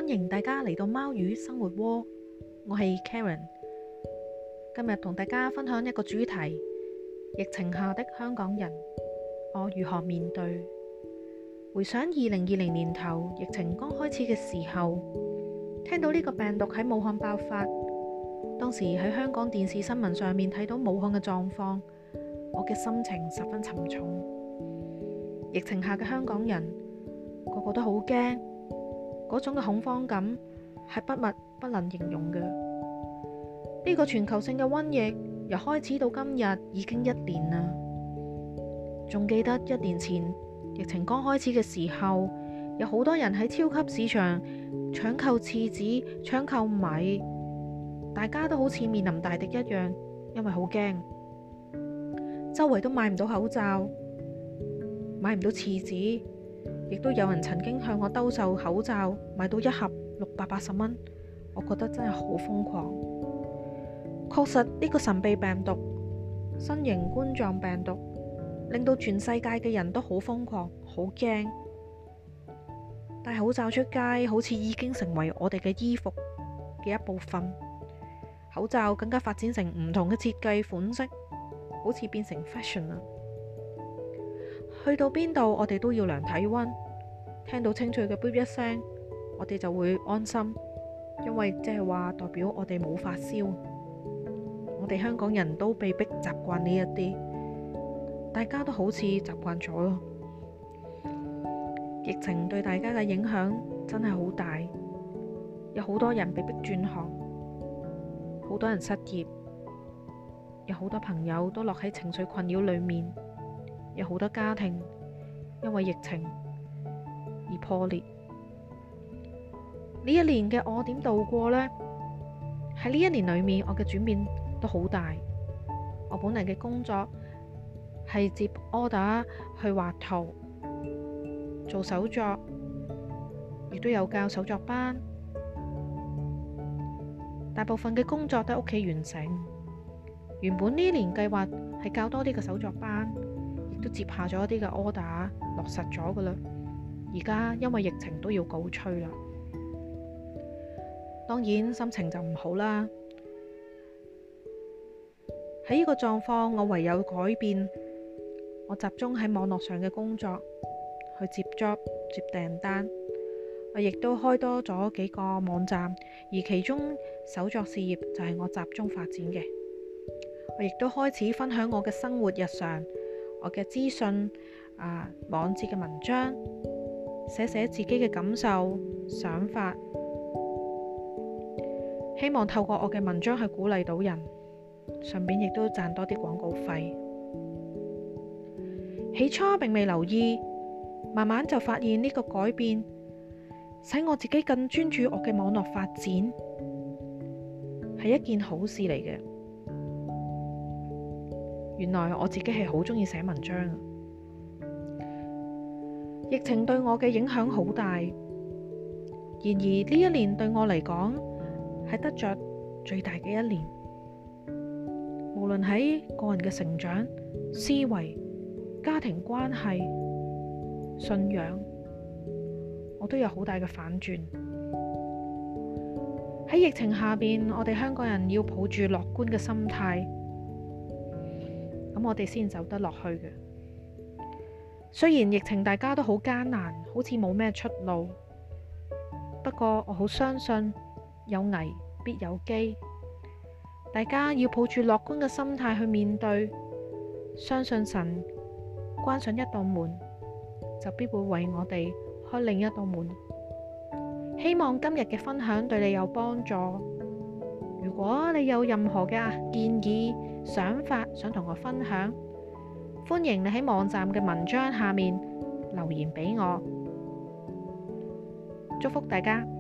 歡迎大家嚟到貓語生活窩，我係 Karen。今日同大家分享一個主題：疫情下的香港人，我如何面對？回想2020年頭疫情剛開始嘅時候，聽到呢個病毒喺武漢爆發，當時喺香港電視新聞上面睇到武漢嘅狀況，我嘅心情十分沉重。疫情下嘅香港人個個都好驚，嗰種嘅恐慌感係不能形容嘅。呢個全球性嘅瘟疫由開始到今日已經1年啦。仲記得1年前疫情剛開始嘅時候，有好多人喺超級市場搶購廁紙、搶購米，大家都好似面臨大敵一樣，因為好驚，周圍都買唔到口罩，買唔到廁紙，亦都有人曾經向我兜售口罩，買到1盒680蚊，我覺得真係好瘋狂。確實呢個神秘病毒新型冠狀病毒令到全世界嘅人都好瘋狂，好驚。戴口罩出街好似已經成為我哋嘅衣服嘅一部分，口罩更加發展成唔同嘅設計款式，好似變成 fashion 啦。去到邊度我哋都要量體溫，聽到清脆嘅嗶一聲，我哋就會安心，因為即係話代表我哋冇發燒。我哋香港人都被逼習慣呢一啲，大家都好似習慣咗咯。疫情對大家嘅影響真係好大，有好多人被逼轉行，好多人失業，有好多朋友都落喺情緒困擾裏面，有好多家庭因為疫情而破裂。呢1年嘅我點度過呢？喺呢1年裏面，我嘅轉變都好大。我本嚟嘅工作係接 order 去畫圖、做手作，亦都有教手作班。大部分嘅工作都喺屋企完成。原本呢年計劃係教多啲嘅手作班，亦都接下咗一啲嘅 order 落實咗噶啦。而家因為疫情都要告吹啦，當然心情就唔好啦。喺呢個狀況，我唯有改變，我集中喺網絡上嘅工作，去接 job、接訂單。我亦都開多咗幾個網站，而其中手作事業就係我集中發展嘅。我亦都開始分享我嘅生活日常，我嘅資訊、網誌嘅文章，寫自己嘅感受、想法，希望透過我嘅文章去鼓勵到人，順便亦都賺多啲廣告費。起初並未留意，慢慢就發現呢個改變使我自己更專注我嘅網絡發展，係一件好事嚟嘅。原來我自己係好鍾意寫文章。疫情對我嘅影響好大，然而呢1年對我嚟講係得着最大嘅1年。無論喺個人嘅成長、思維、家庭關係、信仰，我都有好大嘅反轉。喺疫情下邊，我哋香港人要抱住樂觀嘅心態，咁我哋先走得落去嘅。雖然疫情大家都好艱難，好似冇咩出路，不過我好相信有危必有機。大家要抱住樂觀嘅心態去面對，相信神關上一道門，就必會為我哋開另一道門。希望今日嘅分享對你有幫助。如果你有任何嘅建議、想法想同我分享，歡迎你喺網站嘅文章下面留言俾我。祝福大家！